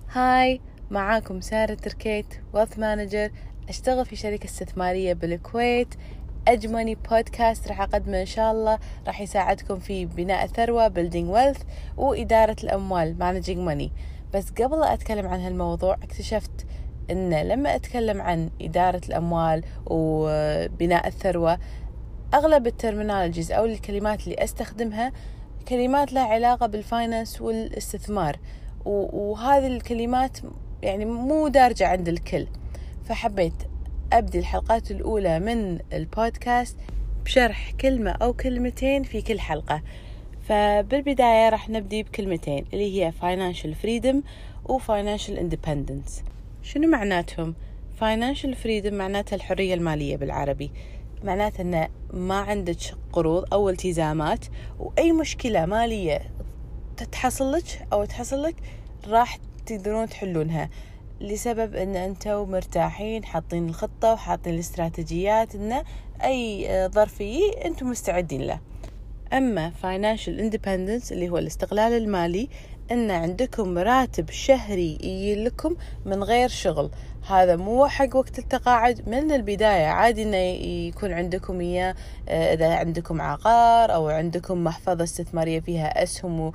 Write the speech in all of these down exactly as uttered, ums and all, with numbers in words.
هاي، معاكم سارة تركيت ويلث مانجر، أشتغل في شركة استثمارية بالكويت. أجمني بودكاست راح أقدمه إن شاء الله، راح يساعدكم في بناء الثروة building wealth وإدارة الأموال managing money. بس قبل لا أتكلم عن هالموضوع اكتشفت إن لما أتكلم عن إدارة الأموال وبناء الثروة أغلب الترمينولوجيز أو الكلمات اللي أستخدمها كلمات لها علاقة بالفاينانس والاستثمار، وهذه الكلمات يعني مو دارجة عند الكل. فحبيت أبدي الحلقات الأولى من البودكاست بشرح كلمة أو كلمتين في كل حلقة. فبالبداية راح نبدي بكلمتين اللي هي financial freedom و financial independence. شنو معناتهم؟ financial freedom معناتها الحرية المالية بالعربي، معناته أن ما عندك قروض أو التزامات، وأي مشكلة مالية تتحصل لك أو تحصل لك راح تقدرون تحلونها، لسبب أن أنتوا مرتاحين، حاطين الخطة وحاطين الاستراتيجيات، أن أي ظرف يجي أنتوا مستعدين له. أما financial independence اللي هو الاستقلال المالي، أن عندكم راتب شهري يجي لكم من غير شغل. هذا مو حق وقت التقاعد، من البداية عادي أنه يكون عندكم إياه إذا عندكم عقار أو عندكم محفظة استثمارية فيها أسهم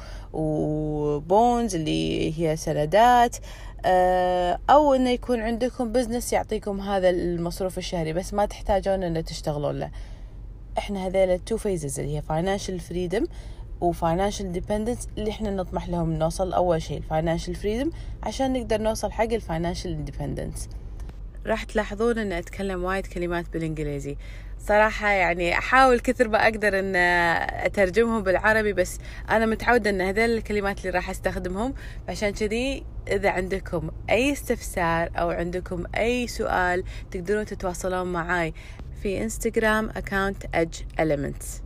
وبونز اللي هي سندات، أو أنه يكون عندكم بزنس يعطيكم هذا المصروف الشهري بس ما تحتاجون أنه تشتغلون له. إحنا هذيل two phases اللي هي financial freedom و financial dependence اللي إحنا نطمح لهم نوصل. أول شيء financial freedom عشان نقدر نوصل حق financial independence. راح تلاحظون أن أتكلم وايد كلمات بالإنجليزي صراحة، يعني أحاول كثر ما أقدر أن أترجمهم بالعربي، بس أنا متعودة أن هذيل الكلمات اللي راح أستخدمهم. عشان كذي إذا عندكم أي استفسار أو عندكم أي سؤال تقدرون تتواصلون معاي في إنستغرام account edge elements.